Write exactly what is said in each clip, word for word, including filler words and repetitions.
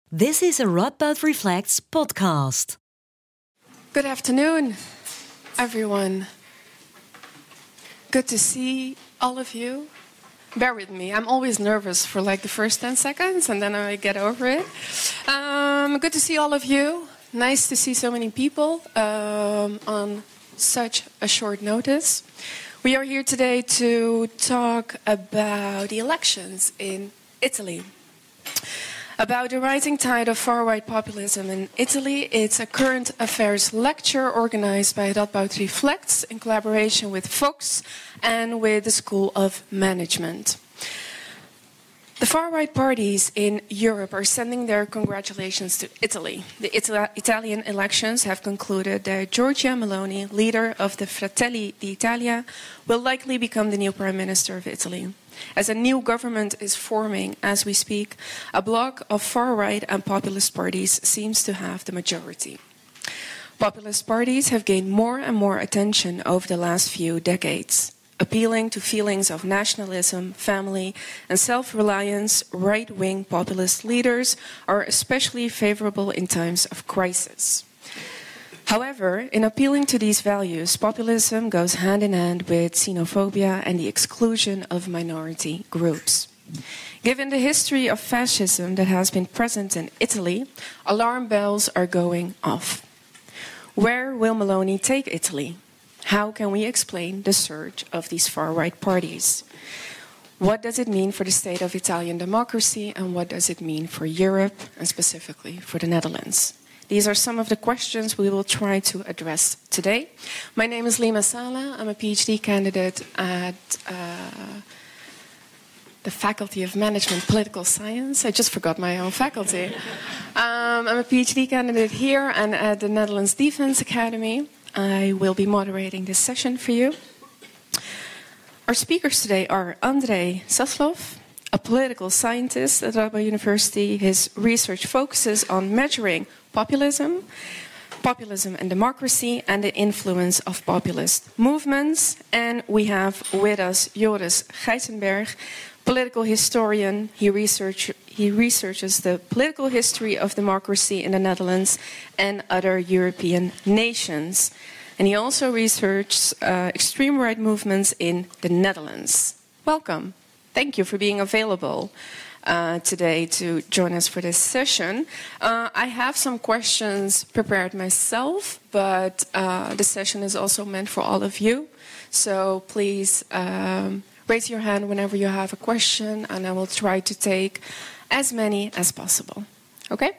This is a Radboud Reflects podcast. Good afternoon, everyone. Good to see all of you. Bear with me, I'm always nervous for like the first ten seconds and then I get over it. Um, good to see all of you. Nice to see so many people um, on such a short notice. We are here today to talk about the elections in Italy. About the rising tide of far-right populism in Italy. It's a current affairs lecture organized by Radboud Reflects in collaboration with Fox and with the School of Management. The far-right parties in Europe are sending their congratulations to Italy. The Ita- Italian elections have concluded that Giorgia Meloni, leader of the Fratelli d'Italia, will likely become the new Prime Minister of Italy. As a new government is forming as we speak, a bloc of far-right and populist parties seems to have the majority. Populist parties have gained more and more attention over the last few decades. Appealing to feelings of nationalism, family, and self-reliance, right-wing populist leaders are especially favorable in times of crisis. However, in appealing to these values, populism goes hand in hand with xenophobia and the exclusion of minority groups. Given the history of fascism that has been present in Italy, alarm bells are going off. Where will Meloni take Italy? How can we explain the surge of these far-right parties? What does it mean for the state of Italian democracy, and what does it mean for Europe, and specifically for the Netherlands? These are some of the questions we will try to address today. My name is Lima Sala. I'm a PhD candidate at uh, the Faculty of Management Political Science. I just forgot my own faculty. um, I'm a PhD candidate here and at the Netherlands Defense Academy. I will be moderating this session for you. Our speakers today are Andrei Saslov, a political scientist at Radboud University. His research focuses on measuring populism, populism and democracy, and the influence of populist movements. And we have with us Joris Gijzenberg, political historian. He, research, he researches the political history of democracy in the Netherlands and other European nations. And he also researches uh, extreme right movements in the Netherlands. Welcome. Thank you for being available uh, today to join us for this session. Uh, I have some questions prepared myself, but uh, the session is also meant for all of you. So please um, raise your hand whenever you have a question, and I will try to take as many as possible. Okay?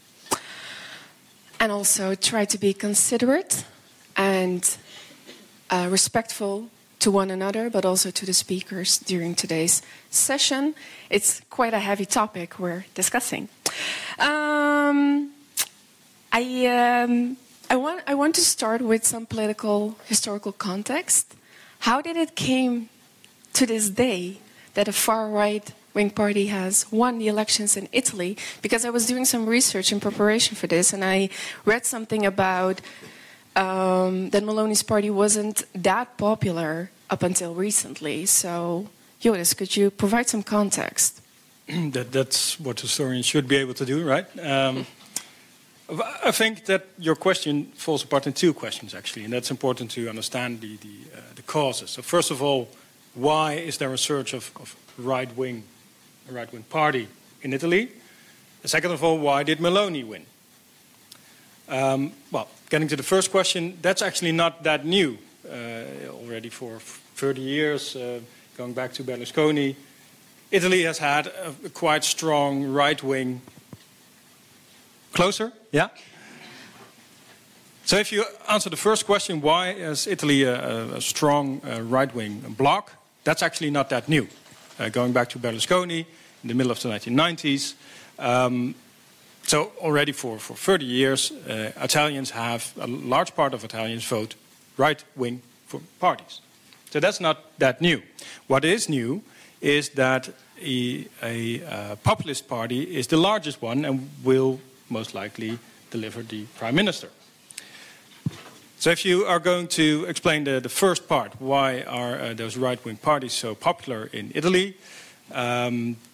And also try to be considerate and uh, respectful to one another, but also to the speakers during today's session. It's quite a heavy topic we're discussing. Um, I, um, I, want, I want to start with some political, historical context. How did it came to this day that a far-right wing party has won the elections in Italy? Because I was doing some research in preparation for this, and I read something about Um, that Meloni's party wasn't that popular up until recently. So, Joris, could you provide some context? that, that's what historians should be able to do, right? Um, I think that your question falls apart in two questions, actually, and that's important to understand the, the, uh, the causes. So, first of all, why is there a surge of, of right-wing, a right-wing party in Italy? And second of all, why did Meloni win? Um, well, getting to the first question, that's actually not that new. Uh, already for thirty years, uh, going back to Berlusconi, Italy has had a, a quite strong right-wing... Closer? Yeah? So if you answer the first question, why is Italy a, a strong uh, right-wing bloc? That's actually not that new. Uh, going back to Berlusconi in the middle of the nineteen nineties... Um, So already for, for thirty years, uh, Italians have, a large part of Italians vote right-wing for parties. So that's not that new. What is new is that a, a uh, populist party is the largest one and will most likely deliver the prime minister. So if you are going to explain the, the first part, why are uh, those right-wing parties so popular in Italy? Um,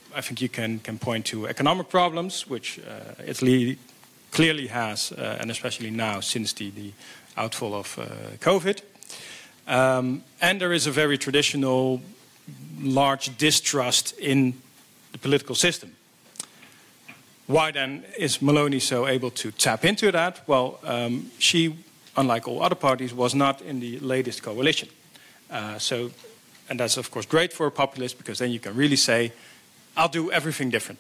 I think you can, can point to economic problems, which uh, Italy clearly has, uh, and especially now since the, the outfall of uh, COVID. Um, and there is a very traditional, large distrust in the political system. Why then is Meloni so able to tap into that? Well, um, she, unlike all other parties, was not in the latest coalition. Uh, so, and that's of course great for a populist, because then you can really say, I'll do everything different.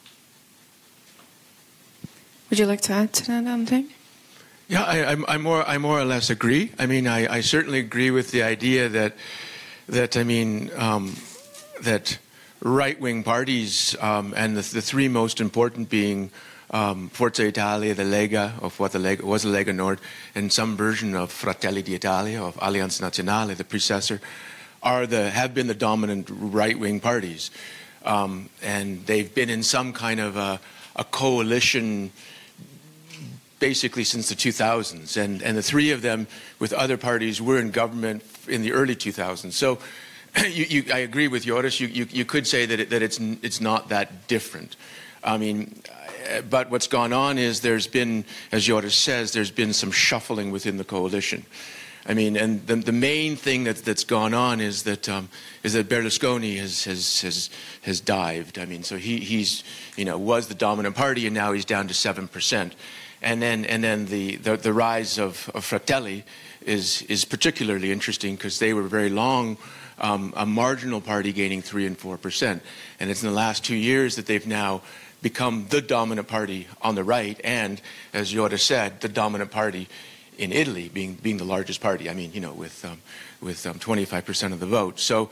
Would you like to add to that, André? Yeah, I, I, I more, I more or less agree. I mean, I, I certainly agree with the idea that, that I mean, um, that right-wing parties, um, and the, the three most important being um, Forza Italia, the Lega, of what the Lega was the Lega Nord, and some version of Fratelli d'Italia, of Alleanza Nazionale, the predecessor, are the have been the dominant right-wing parties, um, and they've been in some kind of a, a coalition basically since the two thousands, and, and the three of them with other parties were in government in the early two thousands. So you, you, I agree with Joris, you, you, you could say that, it, that it's, it's not that different. I mean, but what's gone on is there's been, as Joris says, there's been some shuffling within the coalition. I mean, and the, the main thing that, that's gone on is that um, is that Berlusconi has has has has dived. I mean, so he he's you know was the dominant party, and now he's down to seven percent. And then and then the the, the rise of, of Fratelli is is particularly interesting, because they were very long um, a marginal party gaining three and four percent, and it's in the last two years that they've now become the dominant party on the right, and as Joris said, the dominant party in Italy, being being the largest party. I mean, you know, with um, with um, twenty-five percent of the vote. So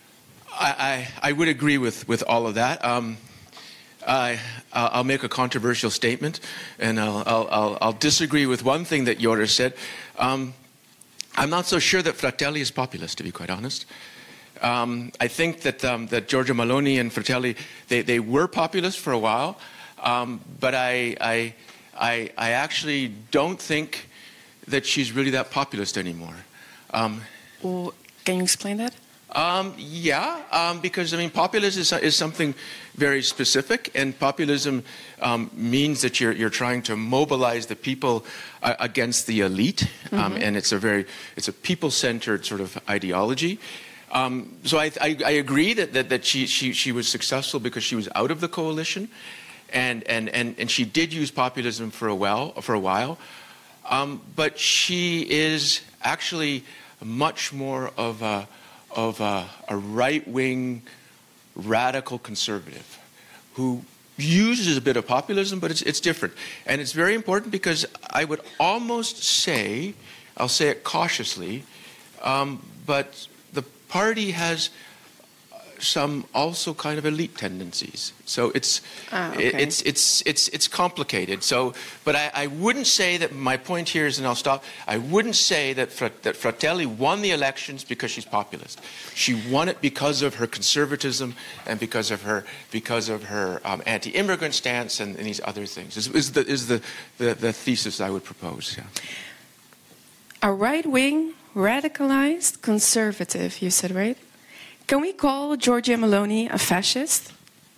I, I I would agree with with all of that. Um, I I'll make a controversial statement, and I'll I'll I'll disagree with one thing that Joris said. Um, I'm not so sure that Fratelli is populist, to be quite honest. Um, I think that um, that Giorgia Meloni and Fratelli they they were populist for a while, um, but I I I I actually don't think that she's really that populist anymore. Um, Well, can you explain that? Um, yeah, um, because I mean, populism is, is something very specific, and populism um, means that you're you're trying to mobilize the people uh, against the elite, um, mm-hmm. and it's a very it's a people-centered sort of ideology. Um, so I, I, I agree that that, that she, she she was successful because she was out of the coalition, and and and, and she did use populism for a while for a while. Um, but she is actually much more of a, of a, a right-wing radical conservative who uses a bit of populism, but it's, it's different. And it's very important, because I would almost say, I'll say it cautiously, um, but the party has some also kind of elite tendencies. So it's ah, okay. it, it's it's it's it's complicated. So, but I, I wouldn't say that my point here is, and I'll stop. I wouldn't say that that Fratelli won the elections because she's populist. She won it because of her conservatism and because of her because of her um, anti-immigrant stance and, and these other things. Is, is the is the, the the thesis I would propose? Yeah. A right-wing, radicalized conservative. You said, right? Can we call Giorgia Meloni a fascist?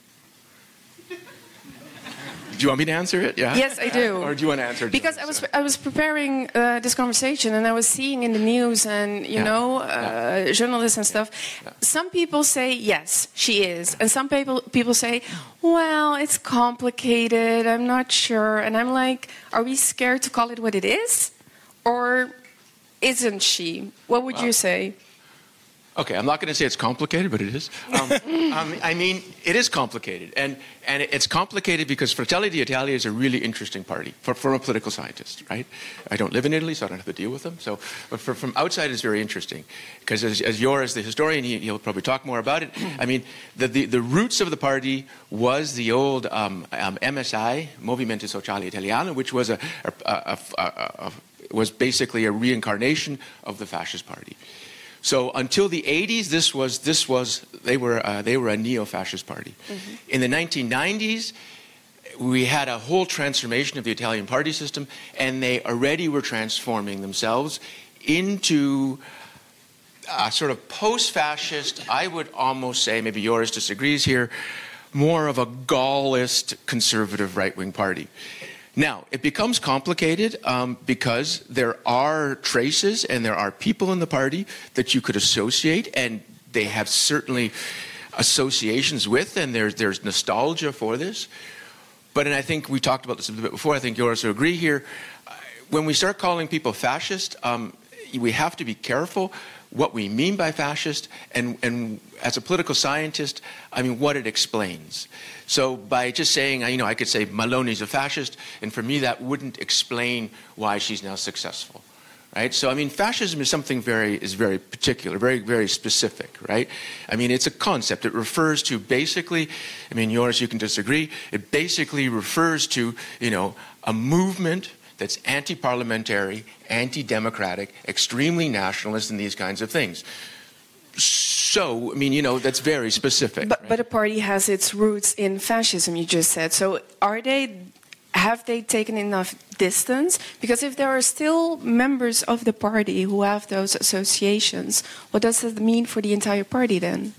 Do you want me to answer it? Yeah. Yes, I do. Or do you want to answer it? Because I was I was preparing uh, this conversation, and I was seeing in the news and you yeah. know uh, yeah. journalists and stuff. Yeah. Some people say yes, she is, and some people people say, well, it's complicated. I'm not sure, and I'm like, are we scared to call it what it is, or isn't she? What would well, you say? Okay, I'm not going to say it's complicated, but it is. Um, um, I mean, it is complicated. And, and it's complicated because Fratelli d'Italia is a really interesting party for, for a political scientist, right? I don't live in Italy, so I don't have to deal with them. So, but for, from outside, it's very interesting. Because as, as Joris, the historian, he, he'll probably talk more about it. I mean, the, the, the roots of the party was the old um, um, M S I, Movimento Sociale Italiano, which was, a, a, a, a, a, was basically a reincarnation of the fascist party. So until the eighties, this was this was they were uh, they were a neo-fascist party. Mm-hmm. In the nineteen nineties, we had a whole transformation of the Italian party system, and they already were transforming themselves into a sort of post-fascist. I would almost say, maybe Joris disagrees here, more of a Gaullist conservative right-wing party. Now, it becomes complicated um, because there are traces and there are people in the party that you could associate, and they have certainly associations with, and there's, there's nostalgia for this. But, and I think we talked about this a bit before, I think you also agree here, when we start calling people fascist, um, we have to be careful what we mean by fascist, and, and as a political scientist, I mean, what it explains. So by just saying, you know, I could say Maloney's a fascist, and for me that wouldn't explain why she's now successful, right? So, I mean, fascism is something very, is very particular, very, very specific, right? I mean, it's a concept. It refers to basically, I mean, yours, you can disagree, it basically refers to, you know, a movement that's anti-parliamentary, anti-democratic, extremely nationalist, and these kinds of things. So, I mean, you know, that's very specific. But, right? but a party has its roots in fascism, you just said. So are they, have they taken enough distance? Because if there are still members of the party who have those associations, what does that mean for the entire party then?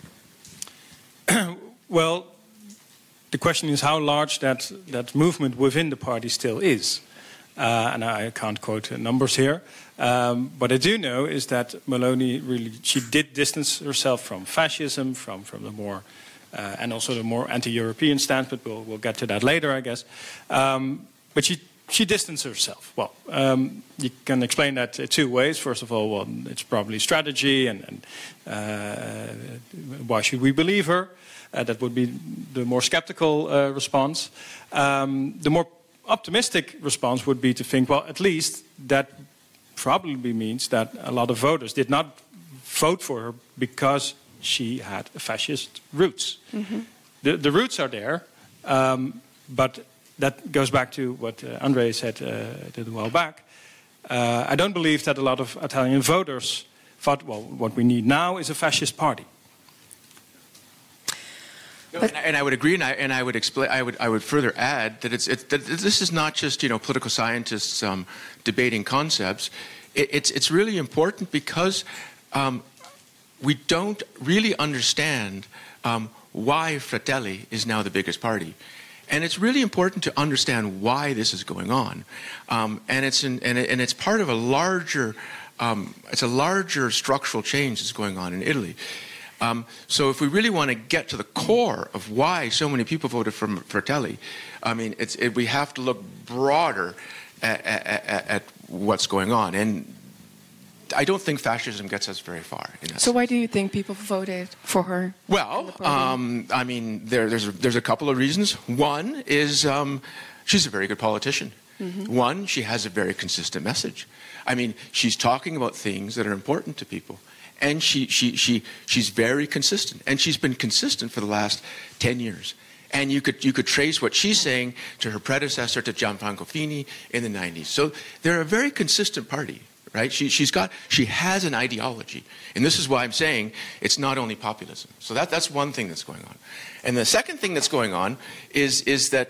Well, the question is how large that, that movement within the party still is. Uh, and I can't quote numbers here. Um, what I do know is that Maloney really, she did distance herself from fascism, from, from the more, uh, and also the more anti-European stance, but we'll, we'll get to that later, I guess. Um, but she, she distanced herself. Well, um, you can explain that two ways. First of all, well, it's probably strategy, and, and uh, why should we believe her? Uh, that would be the more skeptical uh, response. Um, the more optimistic response would be to think, well, at least that probably means that a lot of voters did not vote for her because she had fascist roots. Mm-hmm. The, the roots are there, um, but that goes back to what uh, André said uh, a little while back. Uh, I don't believe that a lot of Italian voters thought, well, what we need now is a fascist party. And I, and I would agree, and I, and I would explain. I would I would further add that it's, it's that this is not just, you know, political scientists um, debating concepts. It, it's it's really important because um, we don't really understand um, why Fratelli is now the biggest party, and it's really important to understand why this is going on, um, and it's in, and, it, and it's part of a larger um, it's a larger structural change that's going on in Italy. Um, so if we really want to get to the core of why so many people voted for Fratelli, I mean, it's, it, we have to look broader at, at, at what's going on. And I don't think fascism gets us very far. In that so sense. Why do you think people voted for her? Well, um, I mean, there, there's, a, there's a couple of reasons. One is um, she's a very good politician. Mm-hmm. One, she has a very consistent message. I mean, she's talking about things that are important to people. And she, she, she, she's very consistent. And she's been consistent for the last ten years. And you could, you could trace what she's saying to her predecessor, to Gianfranco Fini, in the nineties. So they're a very consistent party, right? She, she's got, she has an ideology. And this is why I'm saying it's not only populism. So that, that's one thing that's going on. And the second thing that's going on is, is that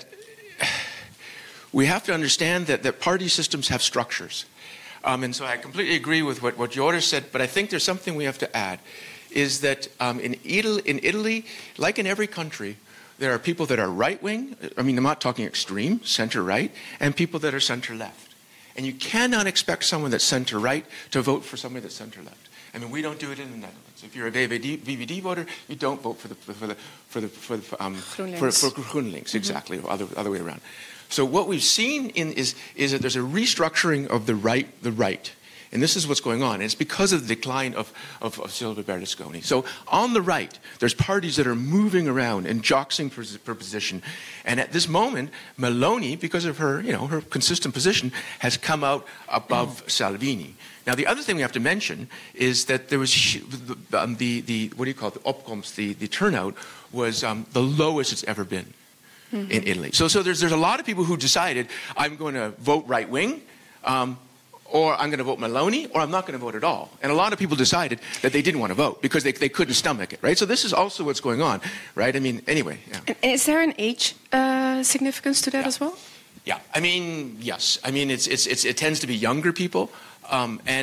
we have to understand that, that party systems have structures. Um, and so I completely agree with what, what Joris said, but I think there's something we have to add, is that um, in, Italy, in Italy, like in every country, there are people that are right-wing, I mean, I'm not talking extreme, center-right, and people that are center-left. And you cannot expect someone that's center-right to vote for somebody that's center-left. I mean, we don't do it in the Netherlands. If you're a V V D, V V D voter, you don't vote for the for the for the for the um, for, for GroenLinks, mm-hmm. Exactly, or other other way around. So what we've seen in is, is that there's a restructuring of the right, the right. And this is what's going on. And it's because of the decline of, of, of Silvio Berlusconi. So on the right, there's parties that are moving around and joxing for, for position. And at this moment, Meloni, because of her, you know, her consistent position, has come out above mm. Salvini. Now, the other thing we have to mention is that there was the, um, the, the what do you call it, the opkomst, the, the turnout was um, the lowest it's ever been. Mm-hmm. In Italy. So, so there's, there's a lot of people who decided, I'm going to vote right-wing, um, or I'm going to vote Meloni, or I'm not going to vote at all. And a lot of people decided that they didn't want to vote because they, they couldn't stomach it, right? So this is also what's going on, right? I mean, anyway. Yeah. And is there an age uh, significance to that yeah. as well? Yeah, I mean, yes. I mean, it's, it's, it's, it tends to be younger people, um, and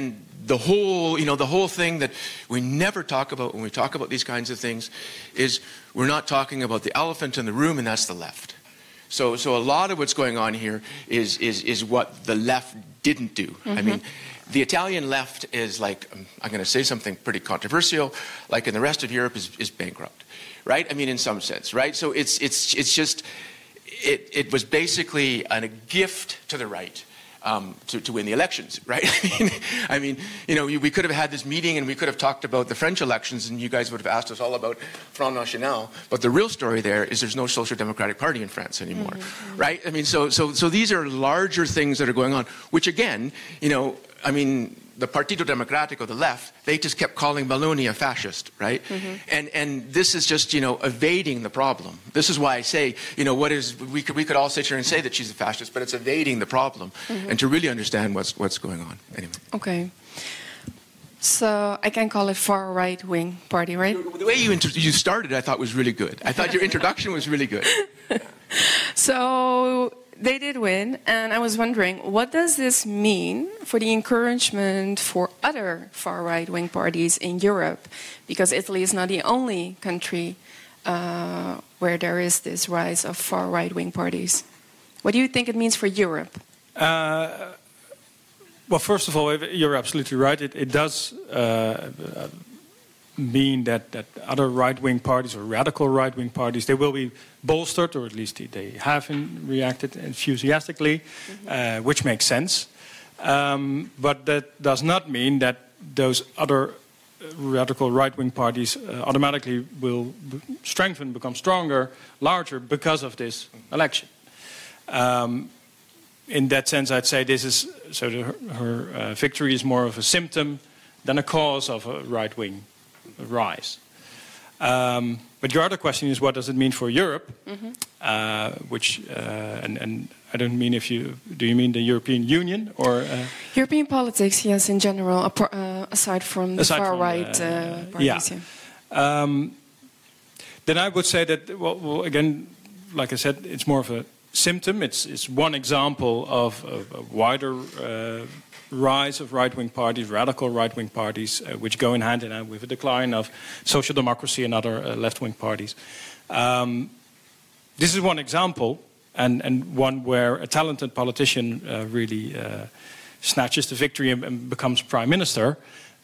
the whole, you know, the whole thing that we never talk about when we talk about these kinds of things is we're not talking about the elephant in the room, and that's the left. So, so a lot of what's going on here is is is what the left didn't do. Mm-hmm. I mean, the Italian left is like, um, I'm going to say something pretty controversial, like in the rest of Europe is, is bankrupt, right? I mean, in some sense, right? So it's it's it's just it it was basically an, a gift to the right. Um, to, to win the elections, right? I mean, I mean, you know, we could have had this meeting and we could have talked about the French elections and you guys would have asked us all about Front National. But the real story there is there's no Social Democratic Party in France anymore, mm-hmm. right? I mean, so so so these are larger things that are going on, which again, you know, I mean, the Partito Democratico, the left, they just kept calling Meloni a fascist, right? Mm-hmm. And and this is just, you know, evading the problem. This is why I say, you know, what is, we could we could all sit here and say that she's a fascist, but it's evading the problem, mm-hmm. and to really understand what's what's going on. Anyway. Okay. So I can call it far right wing party, right? The way you inter- you started, I thought was really good. I thought your introduction was really good. So they did win, and I was wondering, what does this mean for the encouragement for other far-right-wing parties in Europe? Because Italy is not the only country uh, where there is this rise of far-right-wing parties. What do you think it means for Europe? Uh, well, first of all, you're absolutely right. It, it does uh, mean that, that other right-wing parties or radical right-wing parties, they will be bolstered, or at least they have in, reacted enthusiastically, mm-hmm. uh, which makes sense. Um, but that does not mean that those other radical right-wing parties uh, automatically will b- strengthen, become stronger, larger because of this election. Um, in that sense, I'd say this is so the, her, her uh, victory is more of a symptom than a cause of a right-wing rise. Um, but your other question is, what does it mean for Europe? Mm-hmm. Uh, which uh, and, and I don't mean if you do you mean the European Union or uh, European politics? Yes, in general, uh, aside from the aside far from, right uh, uh, parties. Yeah. yeah. Um, then I would say that well, well, again, like I said, it's more of a symptom. It's it's one example of, of a wider Uh, rise of right-wing parties, radical right-wing parties, uh, which go in hand in hand with a decline of social democracy and other uh, left-wing parties. Um, this is one example, and, and one where a talented politician uh, really uh, snatches the victory and, and becomes prime minister.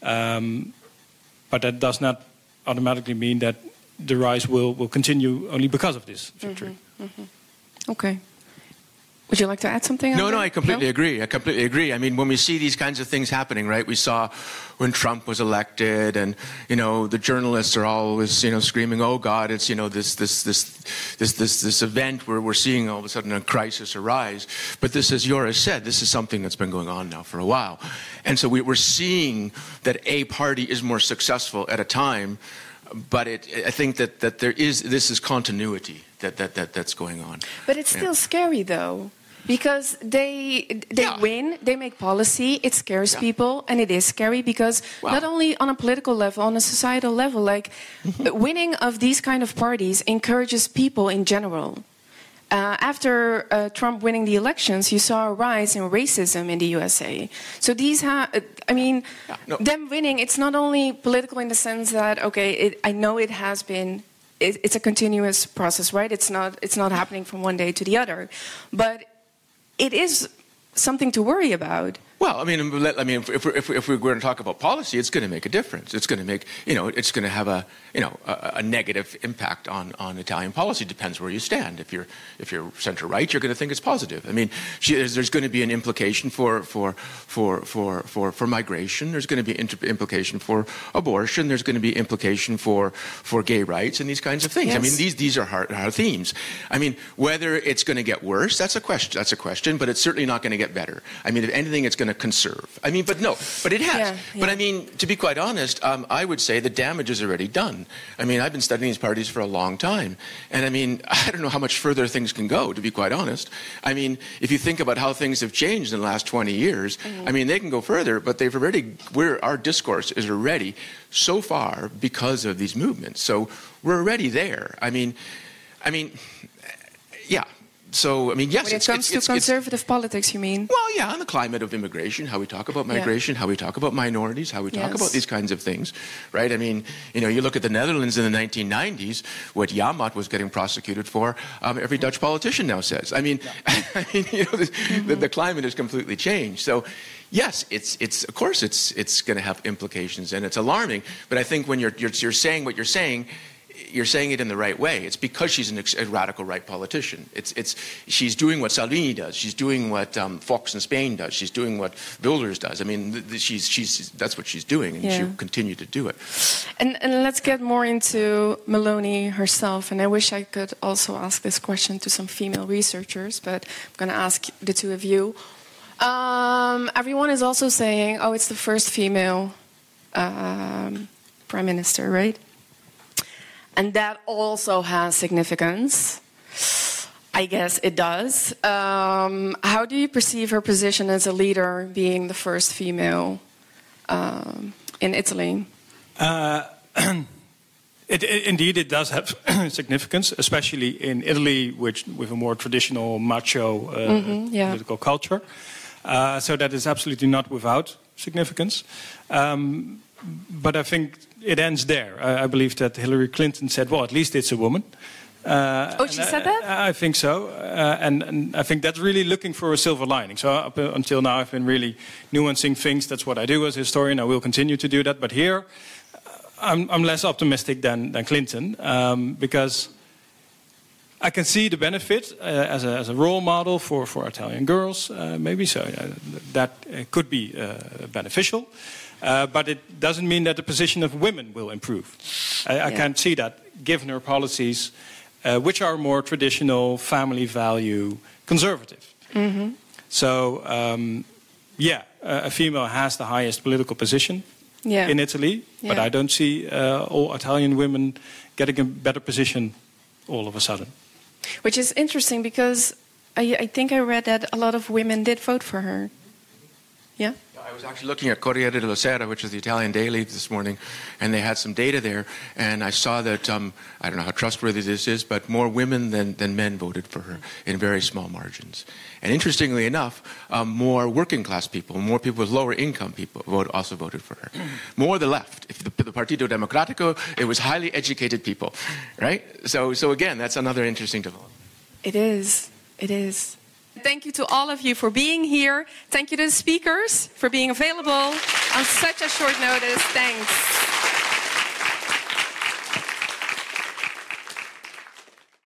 Um, but that does not automatically mean that the rise will, will continue only because of this victory. Mm-hmm, mm-hmm. Okay. Would you like to add something? No, no, that? I completely no? agree. I completely agree. I mean, when we see these kinds of things happening, right? We saw when Trump was elected, and you know, the journalists are always, you know, screaming, "Oh God, it's you know this this this this this this event where we're seeing all of a sudden a crisis arise." But this, as Joris said, this is something that's been going on now for a while, and so we, we're seeing that a party is more successful at a time. But it, I think that, that there is this is continuity that, that, that that's going on. But it's still yeah. scary, though. Because they they yeah. win, they make policy, it scares yeah. people, and it is scary because wow. not only on a political level, on a societal level, like winning of these kind of parties encourages people in general. Uh, after uh, Trump winning the elections, you saw a rise in racism in the U S A. So these have, I mean, yeah, no. them winning, it's not only political in the sense that, okay, it, I know it has been, it, it's a continuous process, right? It's not, it's not happening from one day to the other. But it is something to worry about. Well, I mean, I mean, if we're, if we're going to talk about policy, it's going to make a difference. It's going to make, you know, it's going to have a, you know, a, a negative impact on, on Italian policy. Depends where you stand. If you're if you're center right, you're going to think it's positive. I mean, there's going to be an implication for for for for for, for migration. There's going to be an implication for abortion. There's going to be implication for for gay rights and these kinds of things. Yes. I mean, these these are hard, hard themes. I mean, whether it's going to get worse, that's a question. That's a question. But it's certainly not going to get better. I mean, if anything, it's going to conserve. I mean, but no, but it has. Yeah, yeah. But I mean, to be quite honest, um, I would say the damage is already done. I mean, I've been studying these parties for a long time. And I mean, I don't know how much further things can go, to be quite honest. I mean, if you think about how things have changed in the last twenty years, mm-hmm. I mean, they can go further, but they've already, we're, our discourse is already so far because of these movements. So we're already there. I mean, I mean, yeah. so, I mean, yes. When it it's, comes it's, to it's, conservative it's, politics, you mean? Well, yeah, on the climate of immigration, how we talk about migration, yeah. how we talk about minorities, how we talk yes. about these kinds of things, right? I mean, you know, you look at the Netherlands in the nineteen nineties, what Yamat was getting prosecuted for, um, every Dutch politician now says. I mean, yeah. I mean, you know, the, mm-hmm. the, the climate has completely changed. So, yes, it's it's of course it's it's going to have implications, and it's alarming. But I think when you're you're, you're saying what you're saying, you're saying it in the right way. It's because she's an ex- a radical right politician. It's it's she's doing what Salvini does. She's doing what um, Fox in Spain does. She's doing what Wilders does. I mean, th- th- she's she's that's what she's doing, and yeah. she'll continue to do it. And and let's get more into Meloni herself. And I wish I could also ask this question to some female researchers, but I'm going to ask the two of you. Um, everyone is also saying, oh, it's the first female um, prime minister, right? And that also has significance. I guess it does. Um, how do you perceive her position as a leader, being the first female um, in Italy? Uh, it, it, indeed, it does have significance, especially in Italy, which with a more traditional macho uh, mm-hmm, yeah. political culture. Uh, so that is absolutely not without significance. Um, but I think it ends there. I, I believe that Hillary Clinton said, well, at least it's a woman. Uh, oh, she said that? I, I think so. Uh, and, and I think that's really looking for a silver lining. So up until now, I've been really nuancing things. That's what I do as a historian. I will continue to do that. But here, I'm, I'm less optimistic than, than Clinton, um, because I can see the benefit uh, as, a, as a role model for, for Italian girls, uh, maybe. So uh, that uh, could be uh, beneficial. Uh, but it doesn't mean that the position of women will improve. I, I yeah. can't see that, given her policies, uh, which are more traditional, family value, conservative. Mm-hmm. So, um, yeah, a female has the highest political position yeah. in Italy, yeah. but I don't see uh, all Italian women getting a better position all of a sudden. Which is interesting, because I, I think I read that a lot of women did vote for her. Yeah? I was actually looking at Corriere della Sera, which is the Italian daily, this morning, and they had some data there, and I saw that, um, I don't know how trustworthy this is, but more women than, than men voted for her in very small margins. And interestingly enough, um, more working class people, more people with lower income people vote, also voted for her. More the left. If the, the Partito Democratico, it was highly educated people, right? So, so again, that's another interesting development. It is. It is. Thank you to all of you for being here. Thank you to the speakers for being available on such a short notice. Thanks.